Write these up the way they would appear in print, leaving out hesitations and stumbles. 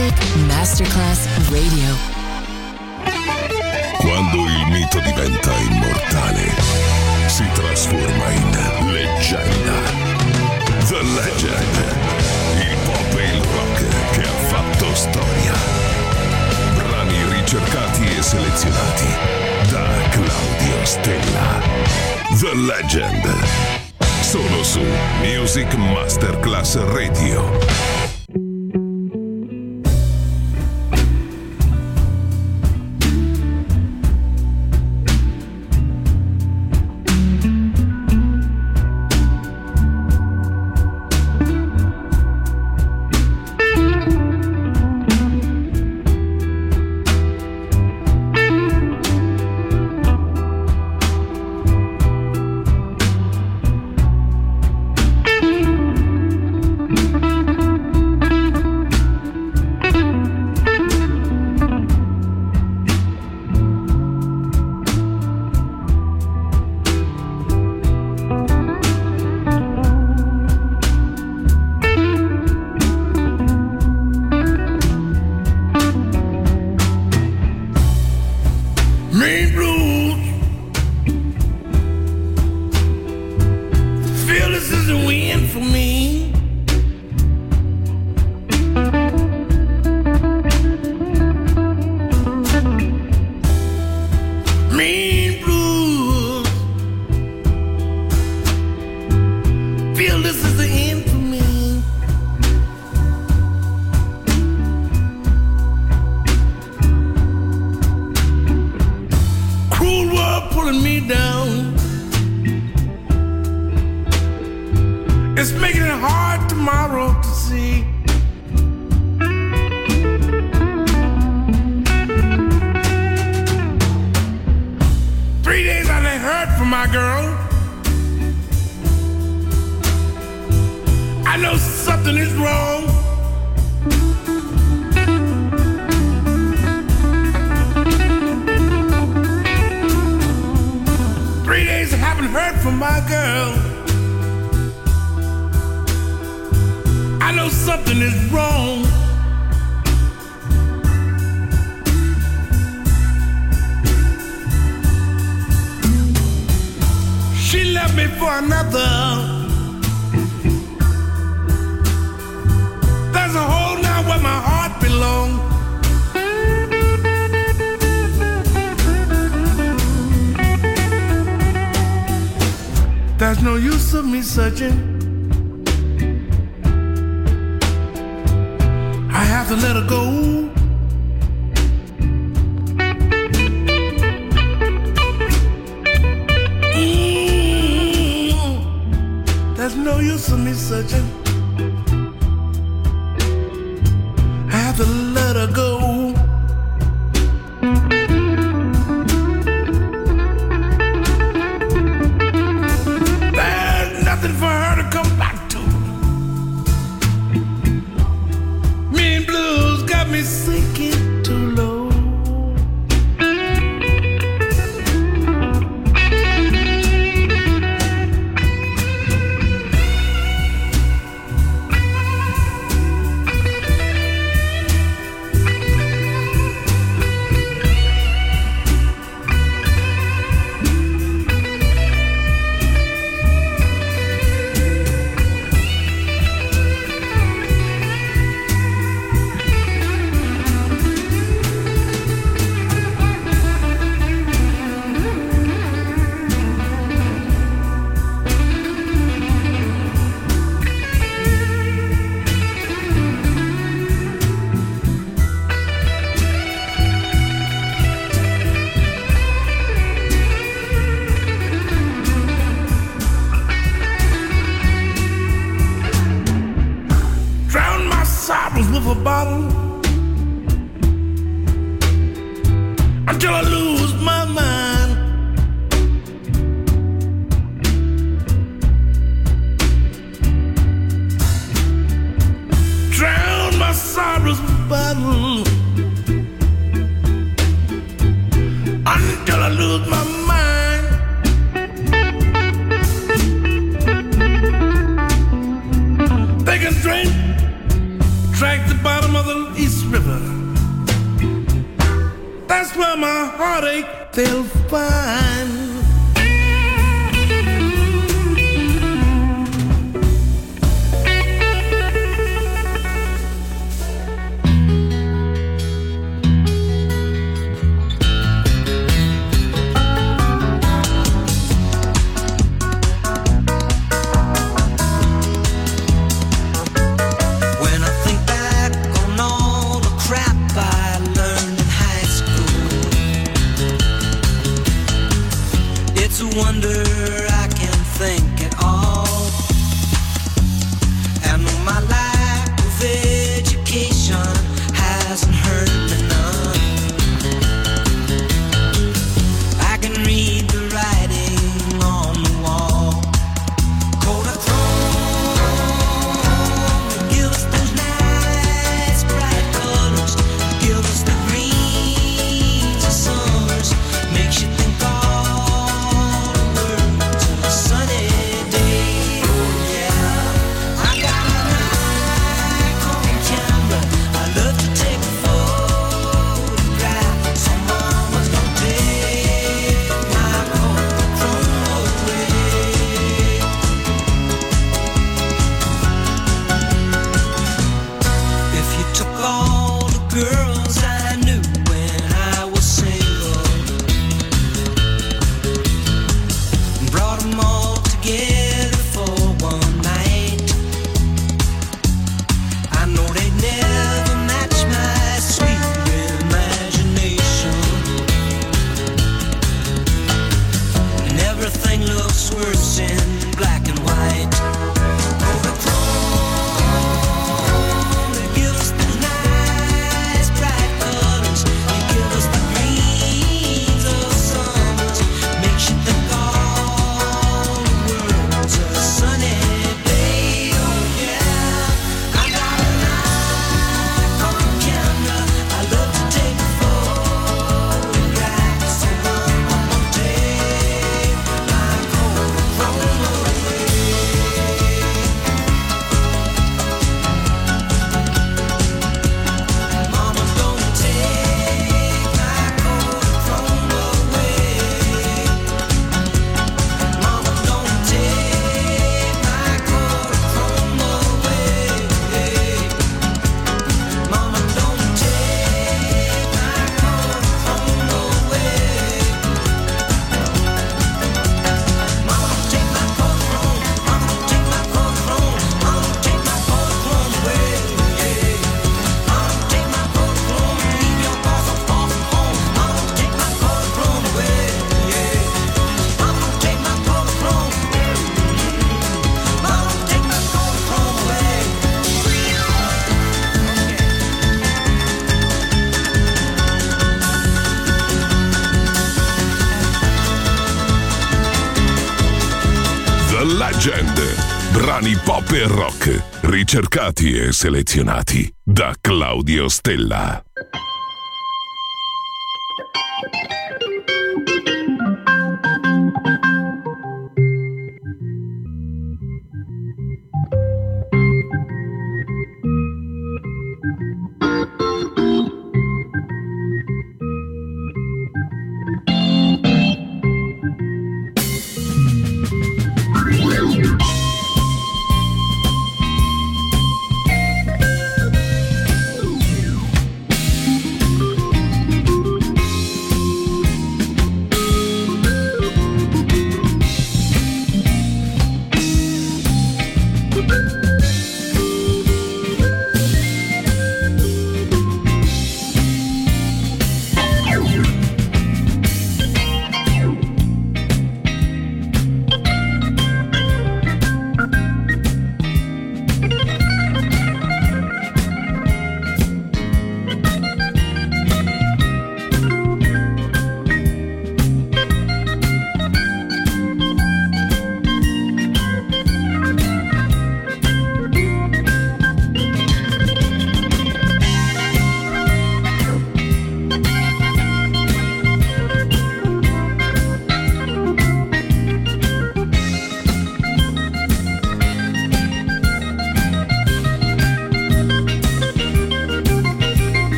Music Masterclass Radio. Quando il mito diventa immortale, si trasforma in leggenda. The Legend, il pop e il rock che ha fatto storia. Brani ricercati e selezionati da Claudio Stella. The Legend, solo su Music Masterclass Radio. There's no use of me searching. I have to let her go. There's no use of me searching. I have to let her go. For her to come back to. Mean blues got me sinking too low. With a bottle until I lose my mind. Drown my sorrows with a bottle until I lose my mind. They can drink the bottom bottom of the East River. That's where my heartache they'll find. Wonder I can think at all. And my lack of education hasn't hurt me none. I can read the writing on the wall. Kodachrome, give us those nice bright colors, give us the greens of summers, makes you think Brani pop e rock, ricercati e selezionati da Claudio Stella.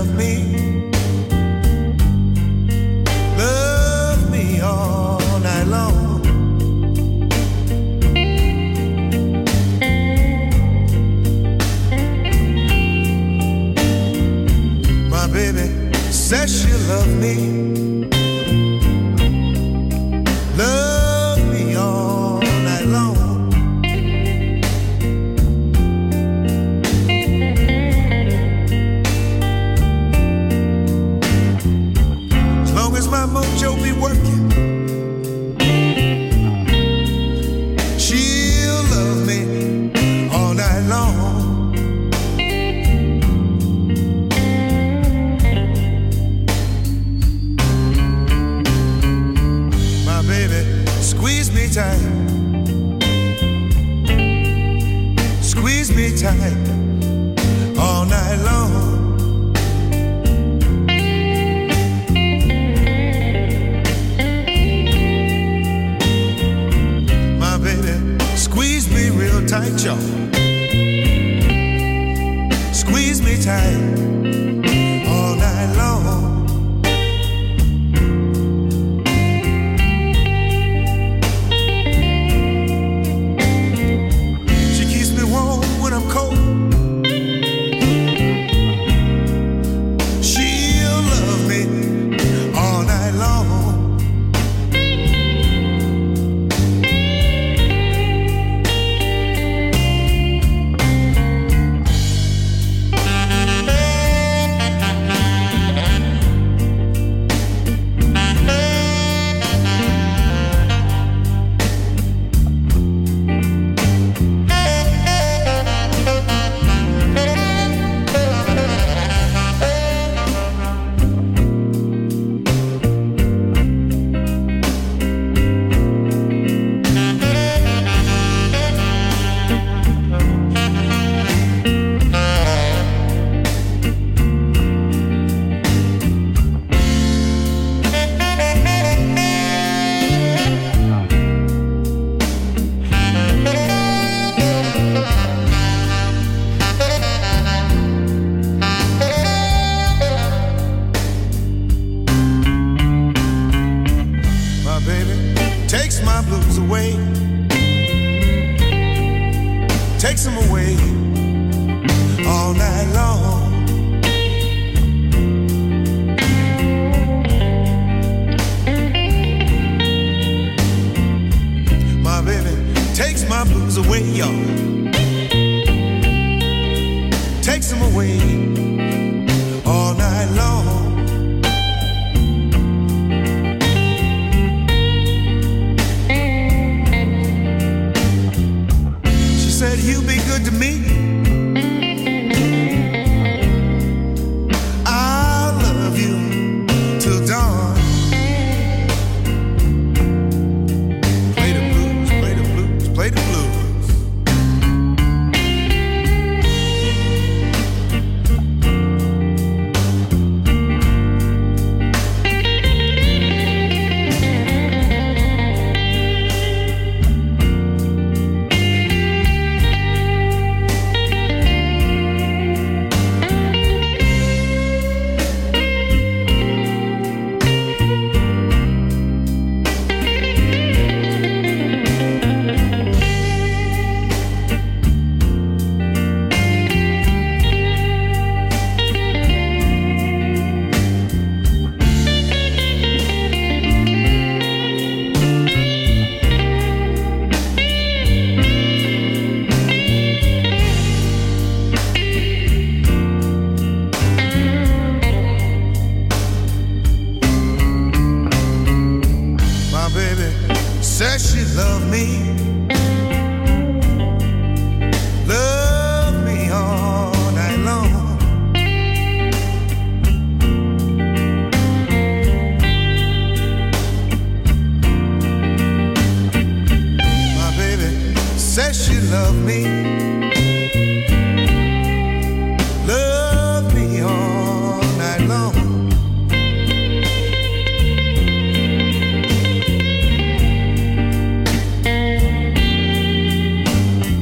love me. Love me all night long. My baby says she'll love me. Love me all night long. As long as my mojo be working, she'll love me all night long. Squeeze me tight, squeeze me tight all night long. My baby, squeeze me real tight, y'all. Squeeze me tight all night long.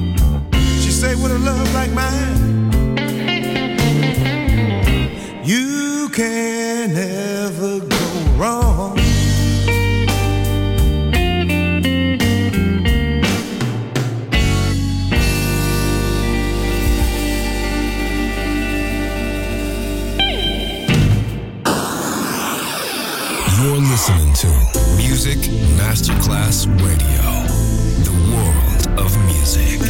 You listening to Music Masterclass Radio, the world of music.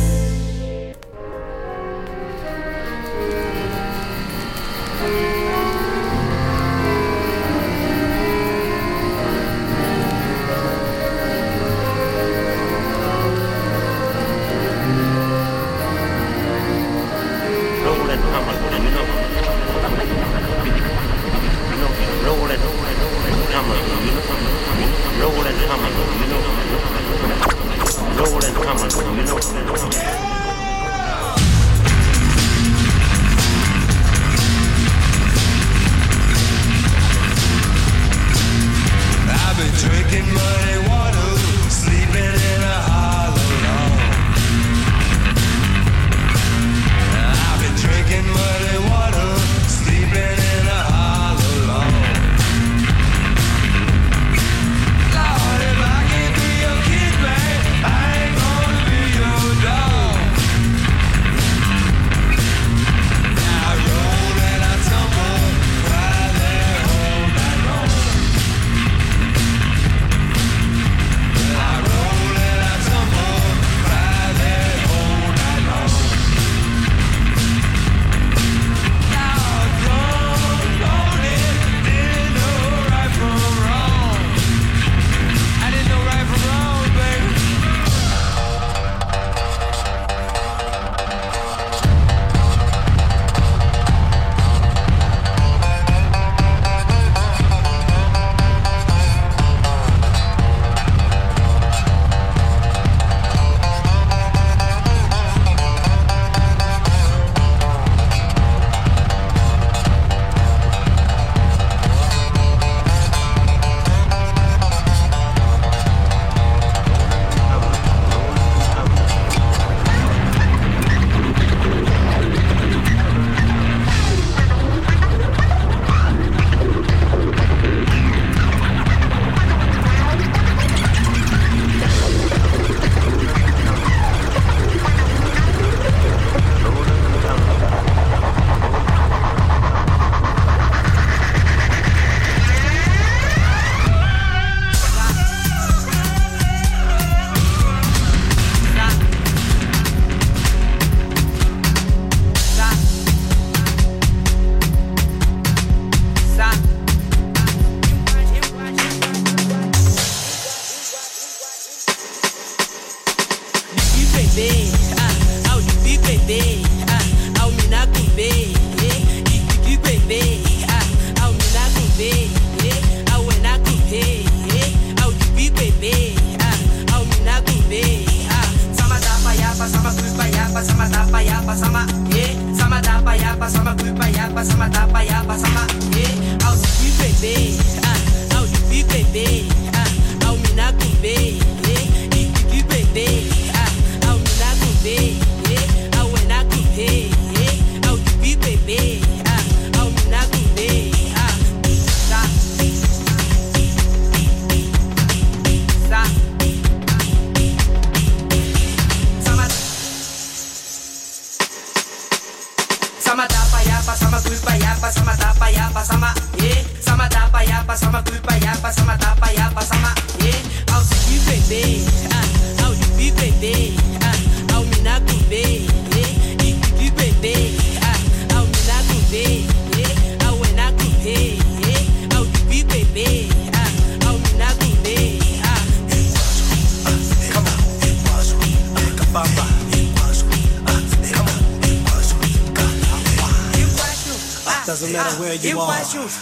Doesn't matter where you are.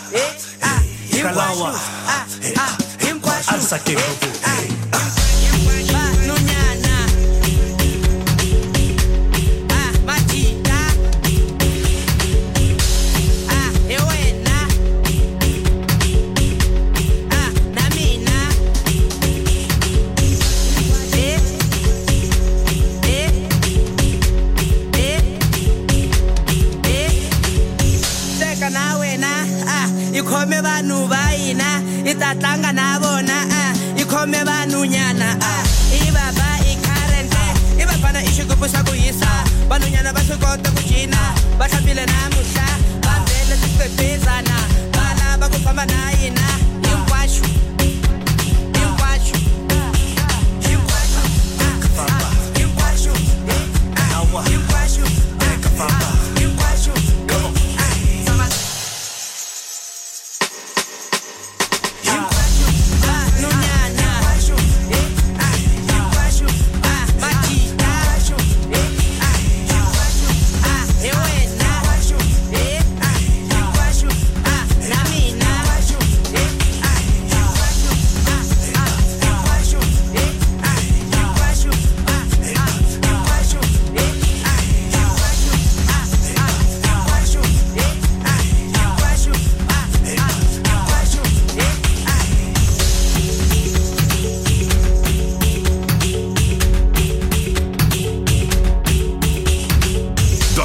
Kalawa, Alsake Kubu. Ikhome vanhu va hina itatlanga na vona ikhome vanhu nyana ibaba ikharente ibafana ishigubu sa ku hisa vanhu nyana va swi kota ku cina va hlambile namuhla va vele tiqephezana va lava ku famba na hina hinkwashu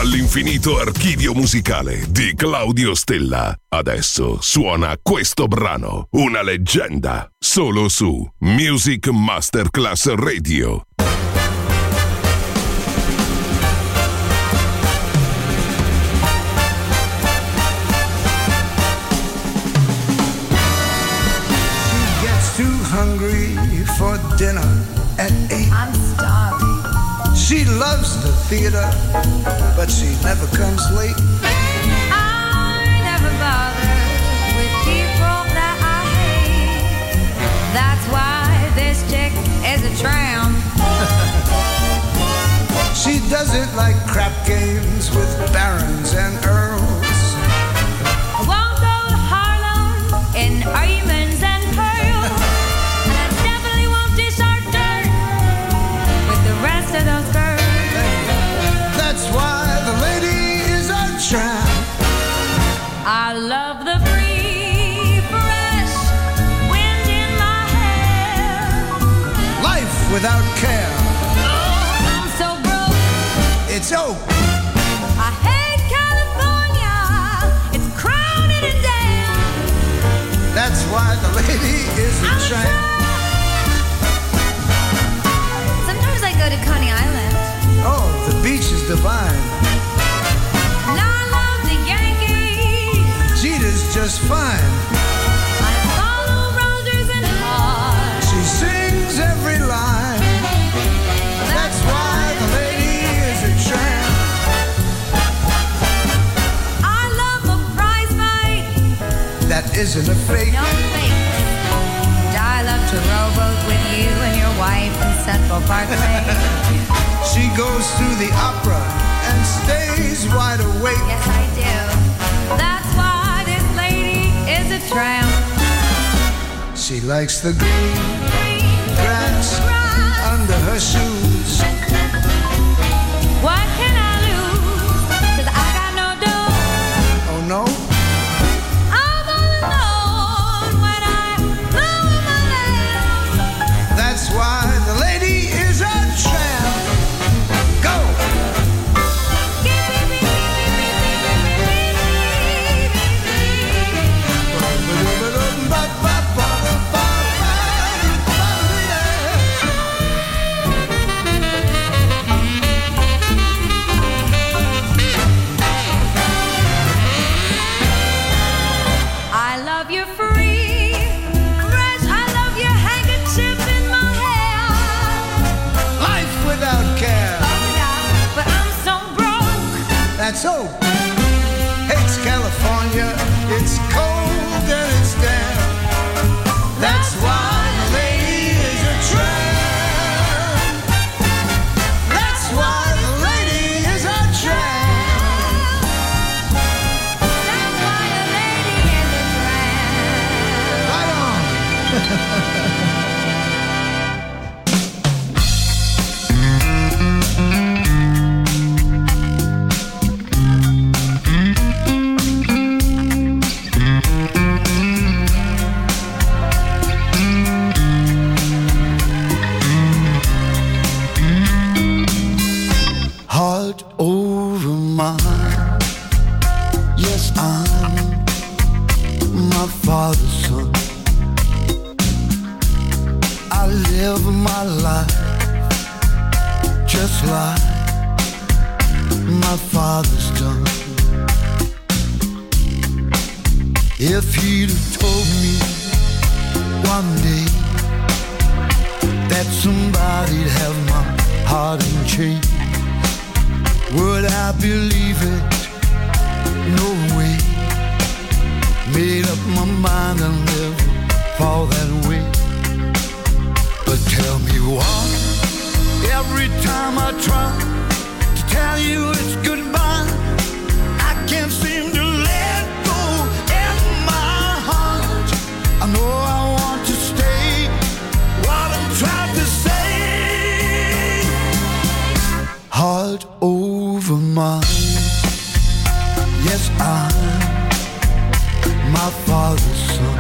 dall'infinito archivio musicale di Claudio Stella. Adesso suona questo brano, una leggenda, solo su Music Masterclass Radio. She gets too hungry for dinner at 8. I'm starving. She loves the theater, but she never comes late. I never bother with people that I hate. That's why this chick is a tramp. She doesn't like crap games with barons and earls. I won't go to Harlem in diamonds and pearls. And I definitely won't dish our dirt with the rest of those girls. That's why the lady is a tramp. I love the free, fresh wind in my hair. Life without care. Oh, I'm so broke. It's oak. I hate California. It's crowded and damn. That's why the lady is a I'm a tramp. Sometimes I go to Coney Island. Oh, the beach is divine. And I love the Yankees. Jeter's just fine. I follow Rogers and Hart. She sings every line. That's why the lady is a tramp. I love a prize fight. That isn't a fake. No fake. And I love to rowboat with you and your wife in Central Parkway. She goes to the opera and stays wide awake. Yes, I do. That's why this lady is a tramp. She likes the green grass under her shoes. What can I lose? 'Cause I got no dough. Oh no? I'm all alone when I move my legs. That's why the lady is a tramp. Go! I love you free, fresh. I love your handkerchief in my hair. Life without care. Oh yeah, but I'm so broke. That's so. Hates California. It's cold and it's damp. That's why the lady is a tramp. That's why the lady is a tramp. That's why the lady is a tramp. Right on. Heart over mine. Yes, I'm my father's son. I live my life just like my father's done. If he'd have told me one day that somebody'd have my heart in chains, would I believe it? No way. Made up my mind I'll never fall that way. But tell me why, every time I try to tell you it's goodbye, I can't seem to let go in my heart. I know I want to stay, what I'm trying to say. Heart over mine. Yes, I'm my father's son,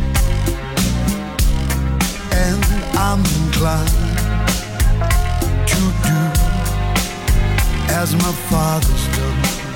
and I'm inclined to do as my father's done.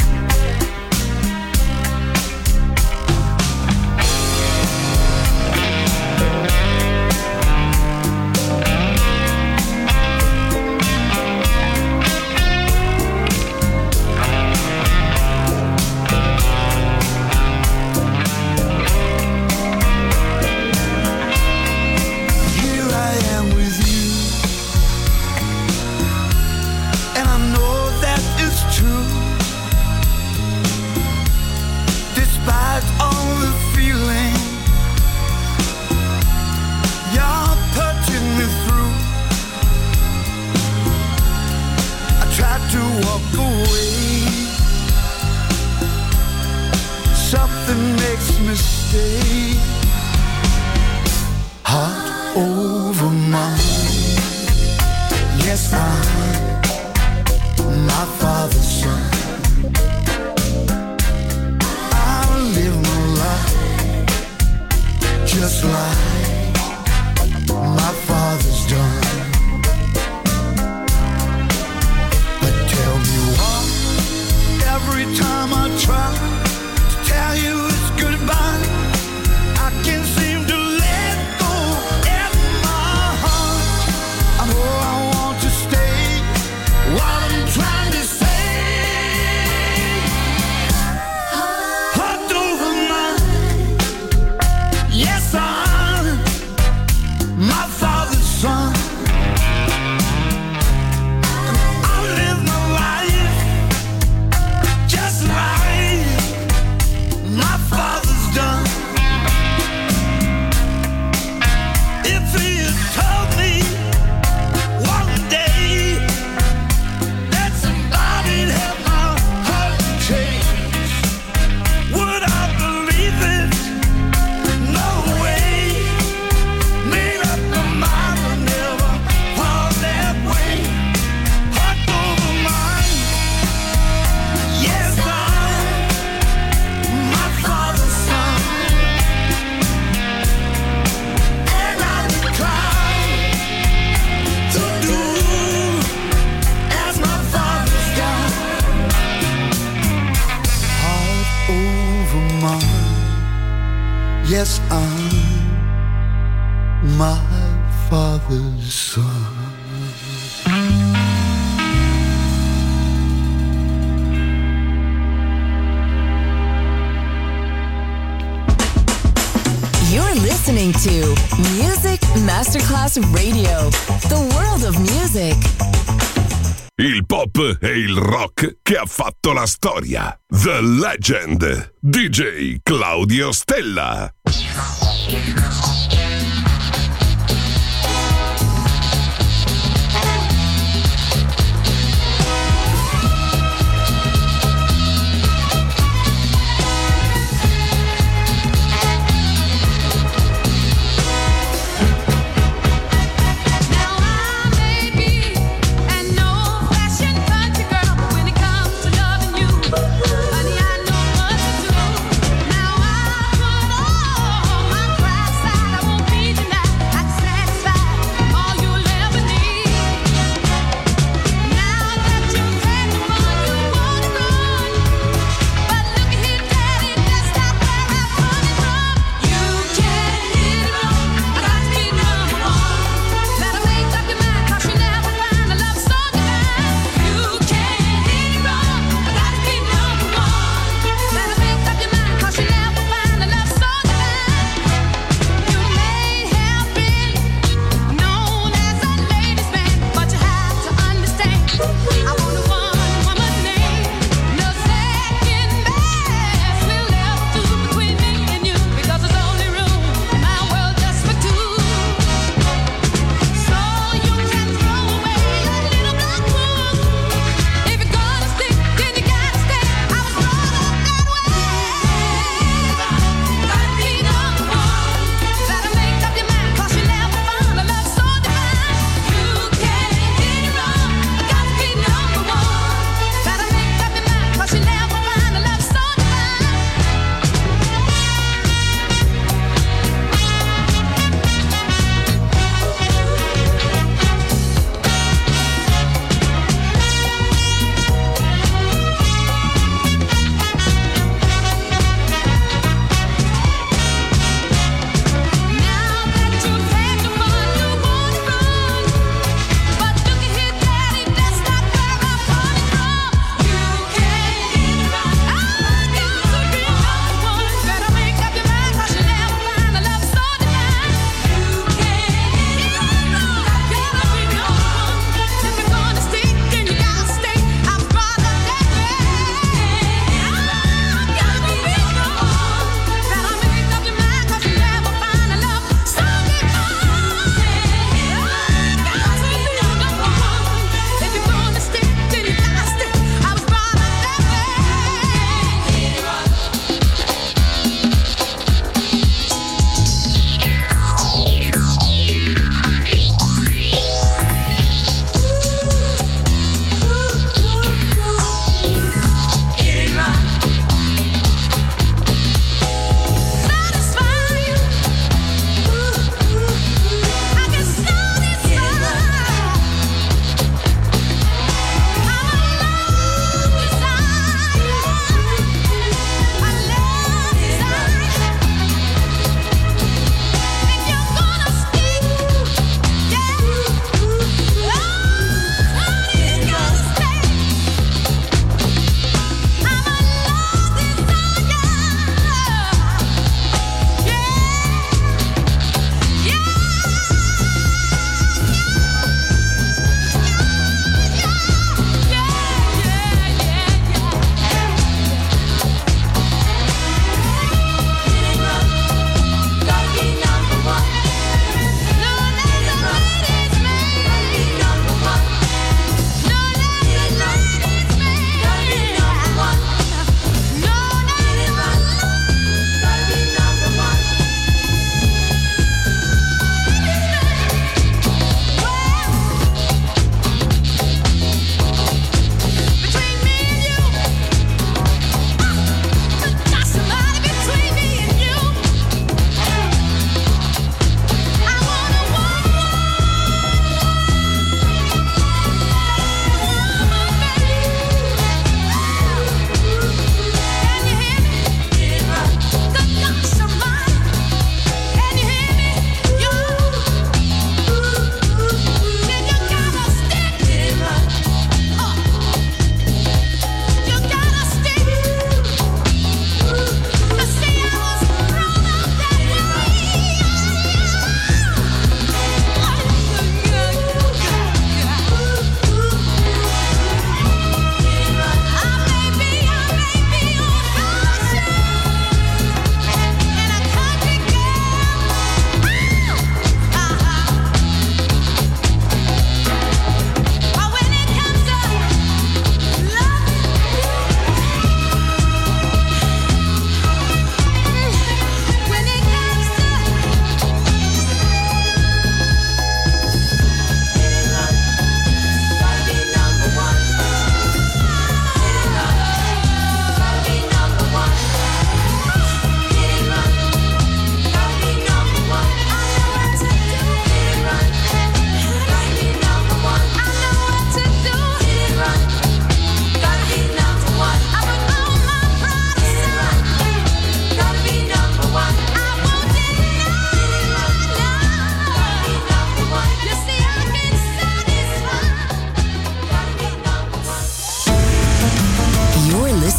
Yes, I'm my father's son. You're listening to Music Masterclass Radio, the world of music. Il pop e il rock che ha fatto la storia. The Legend. DJ Claudio Stella. Now I put all my pride aside.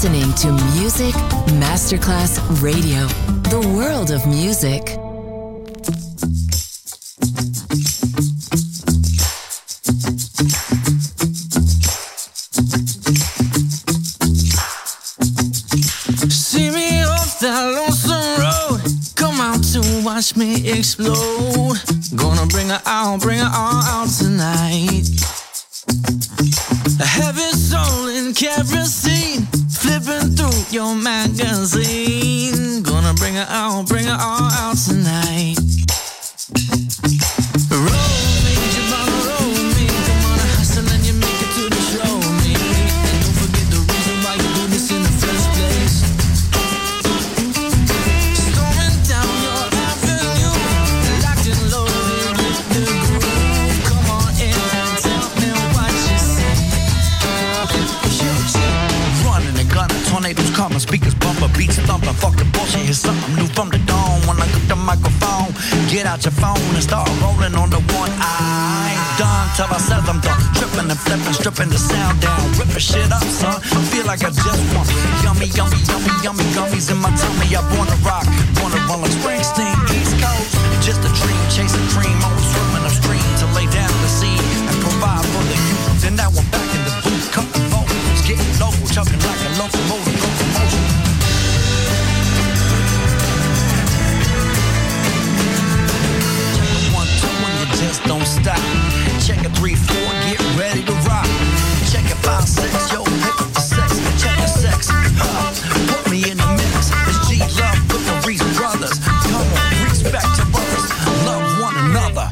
listening to Music Masterclass Radio, the world of music. See me off that lonesome road, come out to watch me explode. Gonna bring her out tonight. A heavy soul in kerosene, flipping through your magazine. Gonna bring her out tonight. Roll me, Jabba, roll me. Come on, hustle and you make it to the show me. And don't forget the reason why you do this in the first place. Storming down your avenue, locked and loaded with the groove. Come on in and tell me what you see. Running and gunning, tornadoes coming, speakers bumping, beats thumping. Fuck the bullshit, here's something new from the dawn. When I grip the microphone, get out your phone and start rolling on the one. I ain't done till I said I'm done. Tripping and flipping, stripping the sound down, ripping shit up, son. I feel like I just want yummy, yummy, yummy, yummy gummies in my tummy. I wanna rock, wanna run like Springsteen, East Coast. Just a dream, chasing cream, always swimming upstream to lay down the sea and provide for the youth. Then that one back in the booth, cutting vocals, getting local, chugging like a locomotive, locomotion. 1, 2, and you just don't stop. Check it 3, 4, get ready to rock. Check it 5, 6, yo, hit the sex. Check the sex, put me in the mix. It's G Love with the Reese Brothers. Come on, respect to brothers, love one another.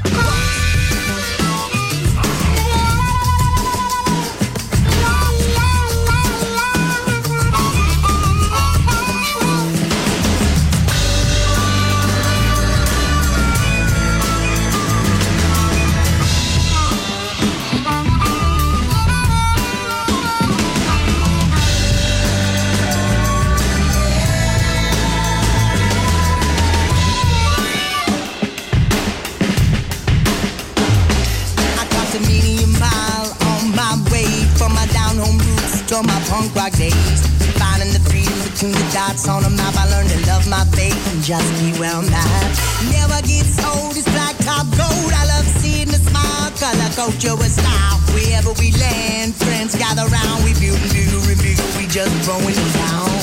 My punk rock days, finding the freedom between the dots on a map. I learned to love my faith and just be where I'm at. Never gets old, it's black top gold. I love seeing the smile, color, culture with style. Wherever we land, friends gather round. We build and build and build, we just throwing it down.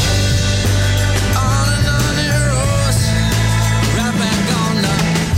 On and on it rolls, right back on the.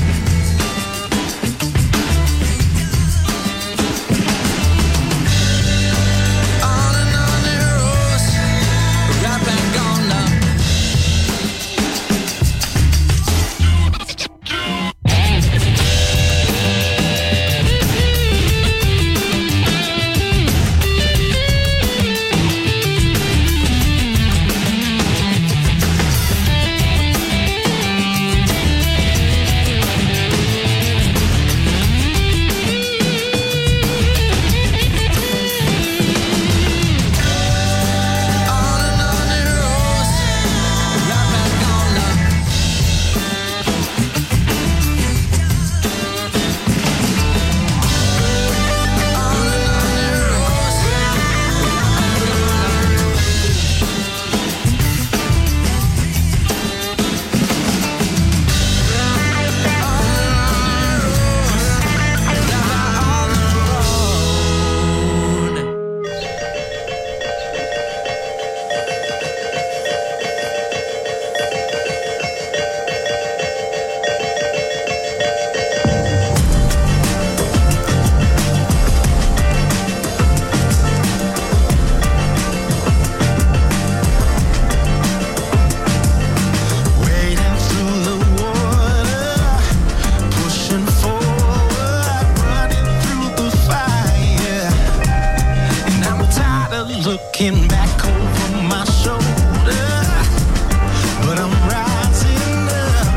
Looking back over my shoulder, but I'm rising up.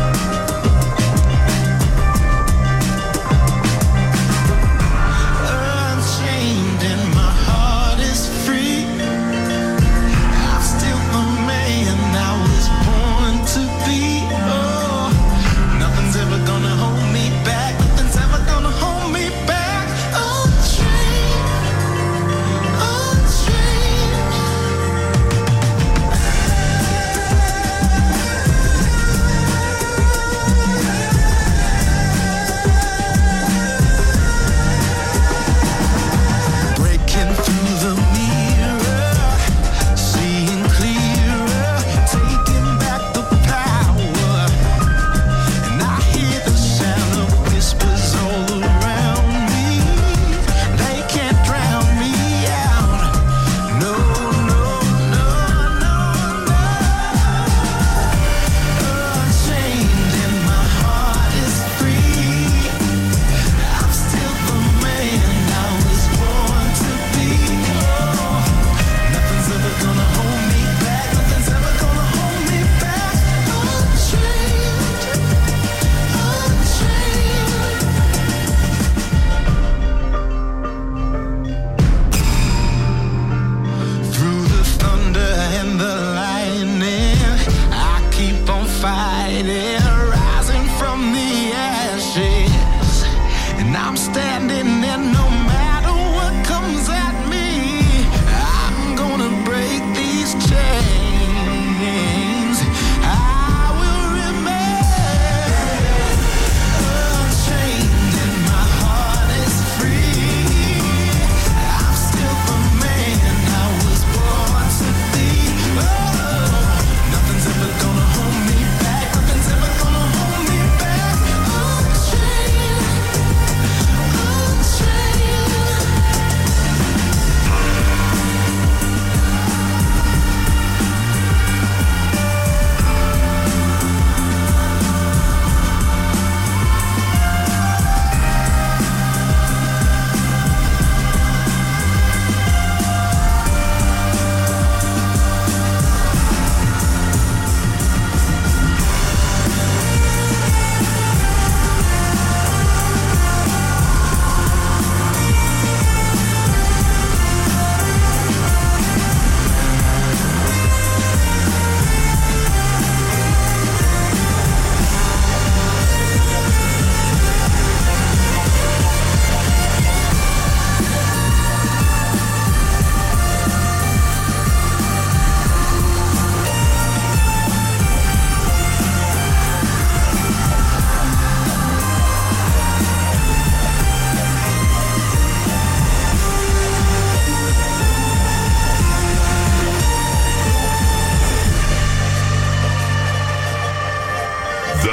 Unchained and my heart is free. I'm still the man I was born to be. Oh, nothing's ever gonna hold me back. Nothing's ever gonna hold me back. Unchained.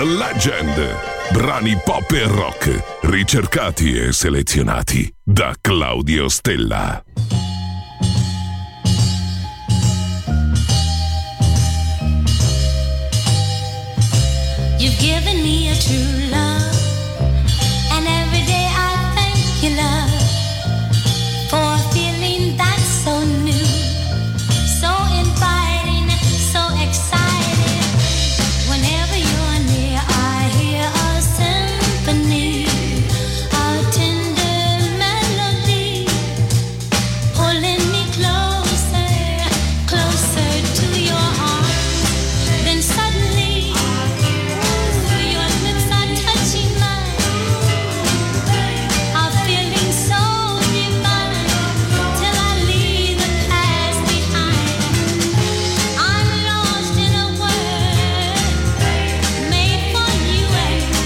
Legend. Brani pop e rock, ricercati e selezionati da Claudio Stella. You've given me a true love, and every day I thank you, love, for a feeling that's so new, so inviting, so exciting. Whenever you're near, I hear a symphony, a tender melody, pulling me closer, closer to your arms. Then suddenly your lips are touching mine, a feeling so divine, till I leave the past behind. I'm lost in a world made for you and me.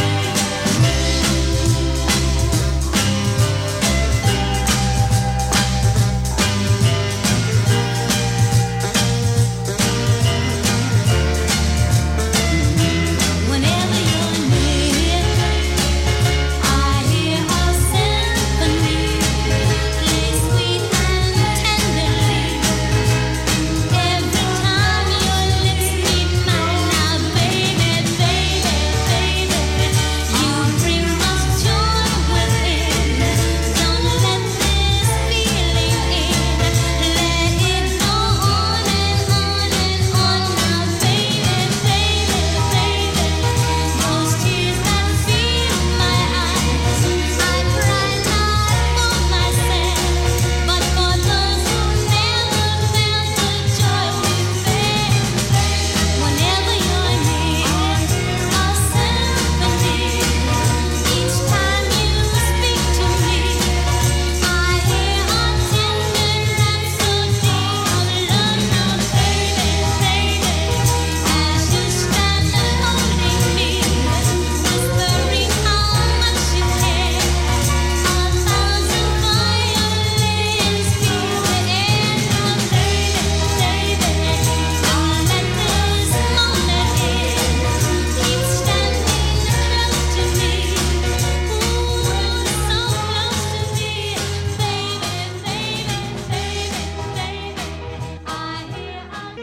Whenever you're near, I hear a symphony, play sweet and tenderly. Every time your lips meet mine, now baby, baby, baby, you bring us joy within. Don't let this feeling in, let it go on and on and on. Now baby, baby, baby, those tears that fill my eyes, I cry not for myself, but for those who never felt the joy we feel. Whenever you're near, a symphony. Each time you speak to me, I hear a tender rhapsody of love. Now baby, baby, as you stand holding me, whispering how much you care, a thousand violins feel the air. Now baby, baby, don't let this moment end. Keep standing close to me, ooh, so close to me, baby, baby, baby, baby. I hear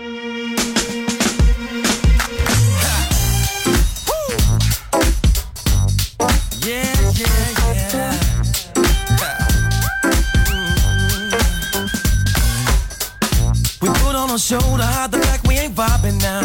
Yeah, yeah, yeah. We put on a show to hide the fact we ain't vibing now.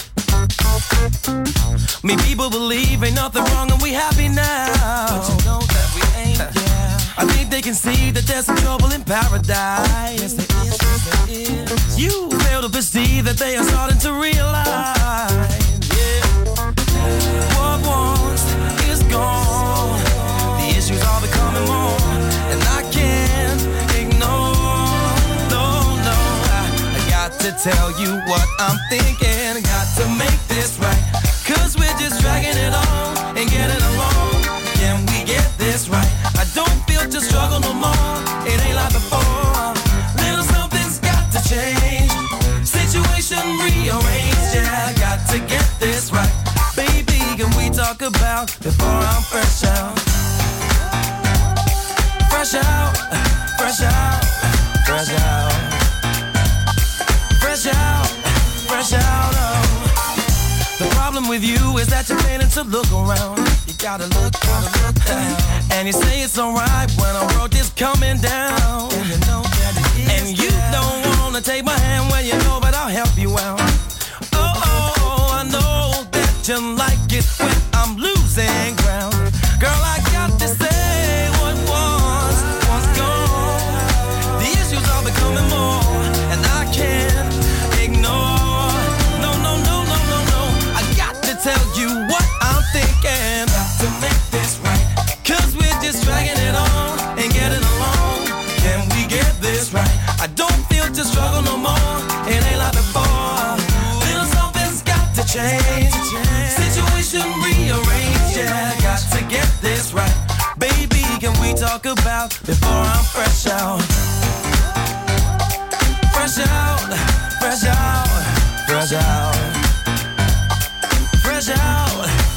Me people believe ain't nothing wrong and we happy now. But you know that we ain't, yeah. I think they can see that there's some trouble in paradise. Yes, there is, yes, there is. You fail to perceive that they are starting to realize, yeah. What once is gone. The issues are becoming more, and I can't ignore. No, no, I got to tell you what I'm thinking. Got to make this right, 'cause we're just dragging it on and getting along. Can we get this right? I don't feel to struggle no more. It ain't like before. Little something's got to change. Situation rearranged, yeah. Got to get this right. Baby, can we talk about before I'm fresh out? Fresh out, fresh out, fresh out. Fresh out, fresh out, oh. The problem with you is that you're failing to look around. You gotta look down. And you say it's alright when our world is coming down. And you know that it is. And you don't wanna take my hand when you know that I'll help you out. Oh, I know that you like it when I'm losing ground. Girl, I got to say what was gone. The issues are becoming more, and I can't ignore. No, no, no, no, no, no. I got to tell you what I'm thinking. Got to make this right, 'cause we're just dragging it on and getting along. Can we get this right? I don't feel to struggle no more. It ain't like before. Little something's got to change. Situation rearranged, yeah. Got to get this right. Baby, can we talk about before I'm fresh out? Fresh out, fresh out, fresh out. Fresh out,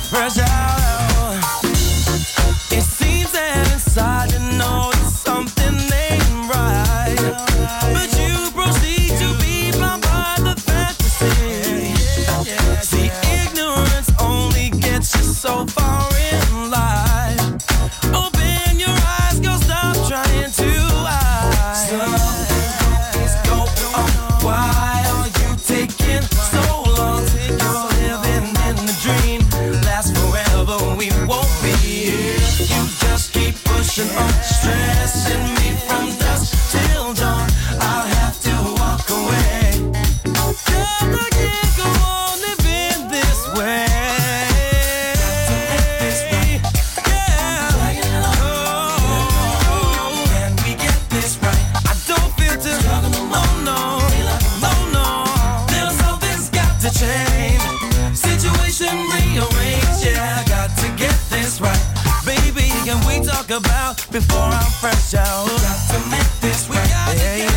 about before I'm fresh out. Got to make this, we got it. Yeah.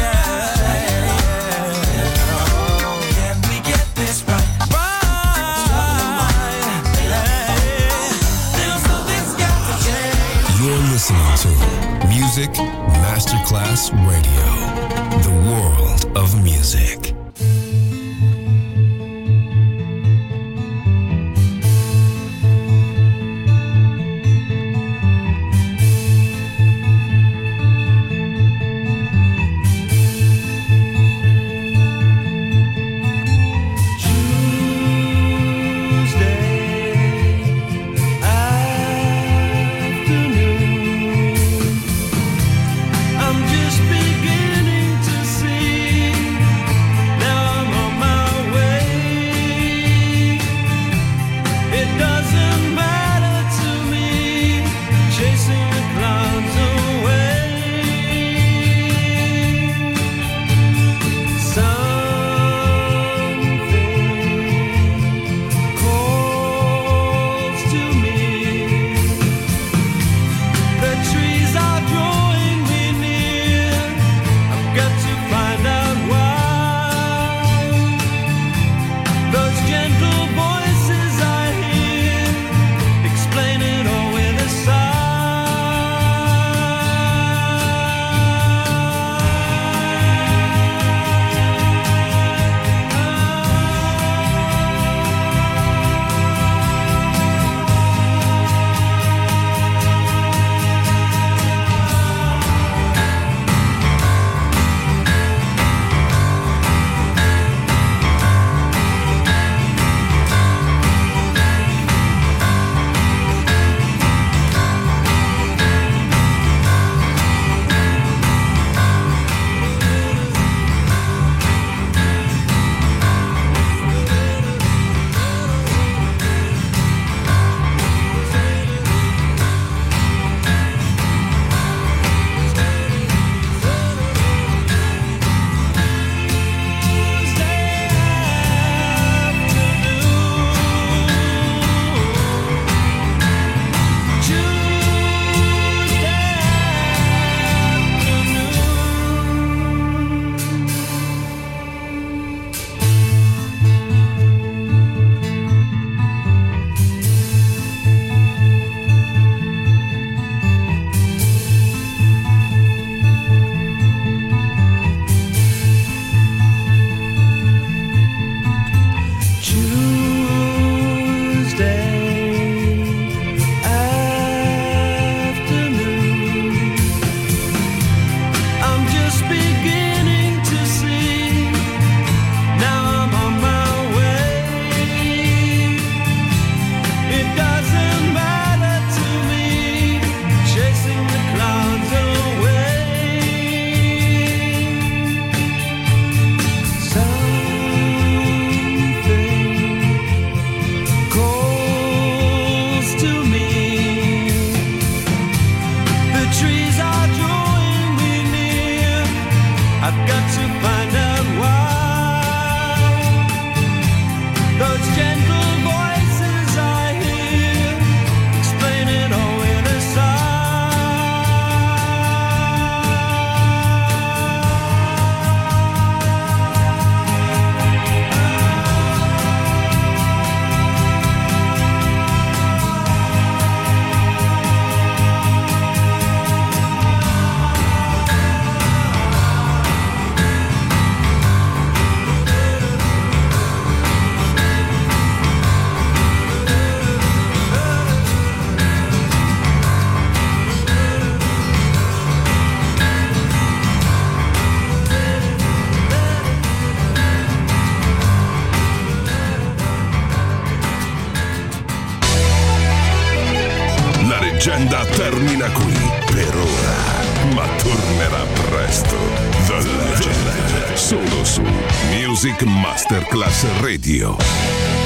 Can we get this right? You're listening to Music Masterclass Radio, the world of music. leggenda termina qui per ora, ma tornerà presto. The Legend, solo su Music Masterclass Radio.